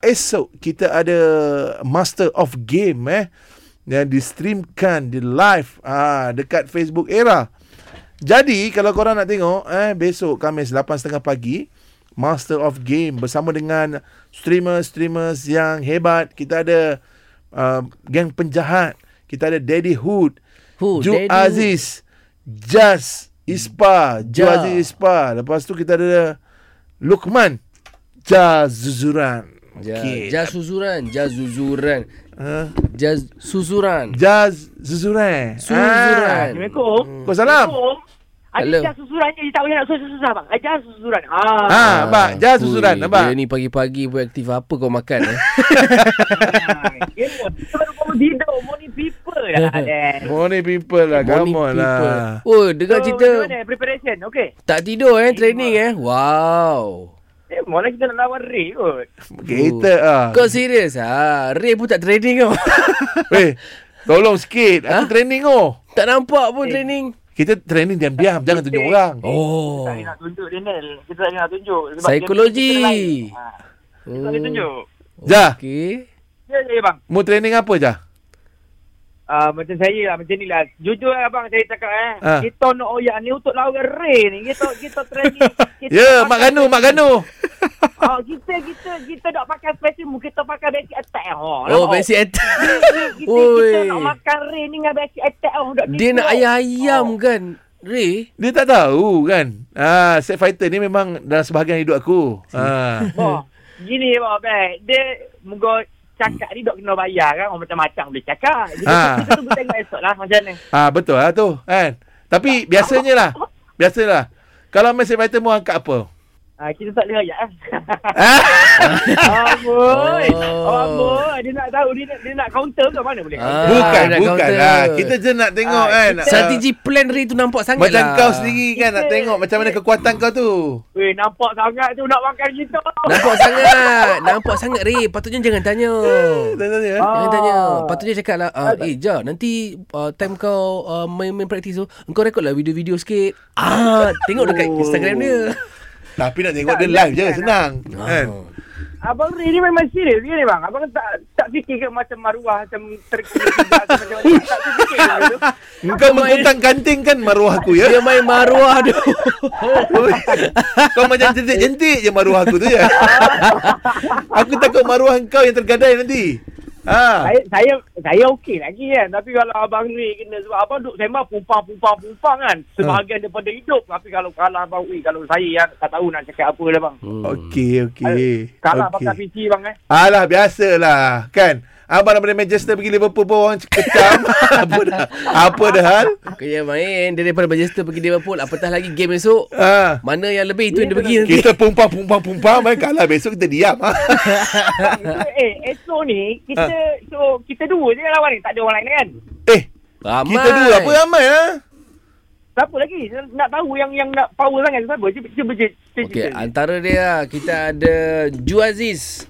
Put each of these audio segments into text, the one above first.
esok kita ada Master of Game yang di-streamkan di live dekat Facebook Era. Jadi kalau korang nak tengok besok Khamis 8.30 pagi, Master of Game bersama dengan streamers yang hebat. Kita ada geng penjahat. Kita ada Daddy Hood, Ju Aziz, Jazz Ispa, Ju Aziz Ispa. Lepas tu kita ada Luqman, Jazz Zuzuran. Okay. Jazz Zuzuran. Jazz Zuzuran. Assalamualaikum. Waalaikumsalam. Ada Jazz Susuran je, tak boleh nak susah-susah bang. Jazz Susuran. Abang, Jazz Susuran abang. Dia ni pagi-pagi pun aktif. Apa kau makan Kau tidur morning people lah. Morning people lah. Come on lah. Oh, dengar cerita. Mana preparation? Okay. Tak tidur training Wow. Malah kita nak lawan Ray kot. Kita Kau serius Ray pun tak training kau. Tolong sikit. Aku training Tak nampak pun training. Kita training diam-diam. Jangan tunjuk orang. Kita tak nak tunjuk Daniel. Kita tak nak tunjuk. Psikologi. Kita tak nak tunjuk. Jah. Okay. Ya bang. Mau training apa Jah? Macam saya lah. Macam ni lah. Jujur lah bang saya cakap kita nak oyak ni untuk lawan Ray ni. Kita training. Mak Ganu. Kita nak pakai special move. Kita pakai basic attack. Basic attack. Kita nak makan Ray ni dengan basic attack. Dia nak ayam kan Ray? Dia tak tahu kan. Set fighter ni memang dalam sebahagian hidup aku. Gini bang. Dia moga cakap ni dok kena bayar kan. Orang macam-macam boleh cakap. Jadi kita tunggu tengok esok lah macam mana. Betul lah tu kan. Tapi biasalah. Kalau main set fighter mu angkat apa? Kita tak boleh ayat Amboi. Dia nak tahu. Dia nak counter ke mana boleh? Bukan lah. Kita je nak tengok kan. Strategi plan Ray tu nampak sangat macam lah. Macam kau sendiri kan nak tengok macam mana kekuatan kau tu. Nampak sangat tu nak makan kita. Nampak sangat Ray. Patutnya jangan tanya. Jangan tanya. Patutnya cakap lah Jah nanti time kau main praktis tu engkau rekod lah video-video sikit. Tengok dekat Instagram dia. Tapi nak tengok dia live je senang kan. Abang Ray ni memang serius ke ni bang? Abang tak fikir ke macam maruah macam terkena macam tak fikir ke tu? Engkau mengkontang-kanting kan maruah aku ya? Dia main maruah tu. Kau macam jentik-jentik je maruah aku tu ya. Aku takut maruah engkau yang tergadai nanti. Saya okey lagi kan. Tapi kalau Abang Ray kena sebab abang duk sembang pumpang kan. Sebahagian daripada hidup. Tapi kalau kalah abang kalau saya yang tak tahu nak cakap apa dah bang. Okey. Kalah pakai PC bang Alah biasalah kan. Abang daripada Manchester pergi Liverpool pun orang kecam. Apa dah hal? Kaya main daripada Manchester pergi Liverpool. Apatah lagi game esok. Mana yang lebih itu yang dia pergi nanti. Kita pumpang main kalah besok kita diam. Esok ni kita dua je lawan ni. Tak ada orang lain kan? Ramai. Kita dua apa ramai Siapa lagi? Nak tahu yang nak power sangat siapa? Cuba Okey, antara dia kita ada Ju Aziz.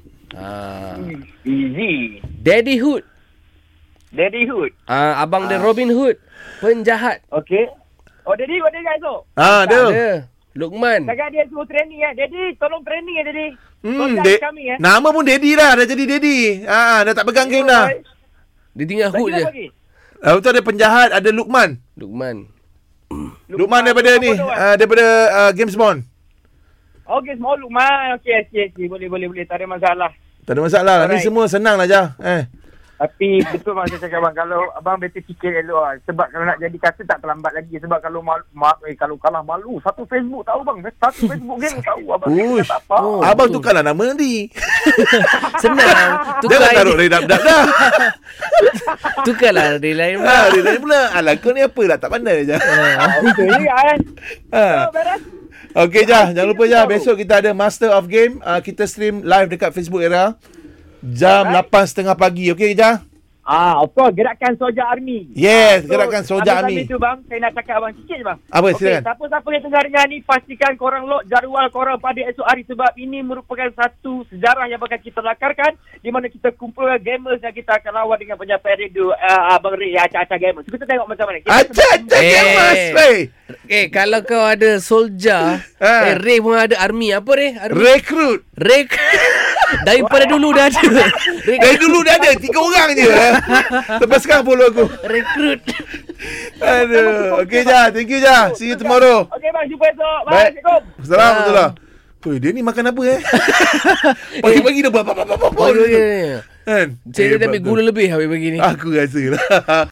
Easy. Daddy Hood. Abang dia Robin Hood. Penjahat. Okey. Daddy ada guys tu? Ada. Luqman. Jangan dia suruh training Daddy, tolong training Daddy. Kami Nama pun Daddy dah jadi Daddy. Dah tak pegang game dah. Dia tinggal Hood je. Betul ada penjahat, ada Luqman daripada ni, daripada Games Bond. Small Luqman. Okey. Boleh. Tak ada masalah. Ni semua senang lah Jah. Tapi betul bang saya cakap bang. Kalau abang better fikir elok lah. Sebab kalau nak jadi kata tak terlambat lagi. Sebab kalau kalau kalah malu. Satu Facebook tahu bang. Satu Facebook game tahu abang. Tak apa. Abang tukarlah nama nanti. Senang. Jangan taruh Ray dah. Tukarlah Ray lain pula. Alah kau ni apa lah. Tak pandai je. Betul ni kan. Beres. Okey Jah, jangan lupa Jah, besok kita ada Master of Game. Kita stream live dekat Facebook Era jam 8.30 pagi. Okey Jah? Of course, Gerakan Soja Army. Yes, Gerakan Soja Army. Habis tu bang, saya nak cakap abang sikit je bang. Apa silakan? Siapa-siapa yang tengah dengar ni, pastikan korang lock jadual korang pada esok hari. Sebab ini merupakan satu sejarah yang bakal kita lakarkan. Di mana kita kumpulkan gamers yang kita akan lawan dengan penyampai radio Abang Ray, acak-acak gamers. Kita tengok macam mana. Acak-acak gamers, Ray. Kalau kau ada soldier, Ray pun ada army. Apa Ray? Recruit. Daripada dulu dah ada. Dari dulu dah ada 3 orang je. Lepas sekarang follow aku. Rekrut. Aduh. Okay Jah, thank you Jah. See you tomorrow. Okey bang, jumpa esok. Bye. Baik. Assalamualaikum. Assalamualaikum. Oi, dia ni makan apa Pagi-pagi dah Kan? kan? Saya dah ambil gula lebih habis begini. Aku rasa lah.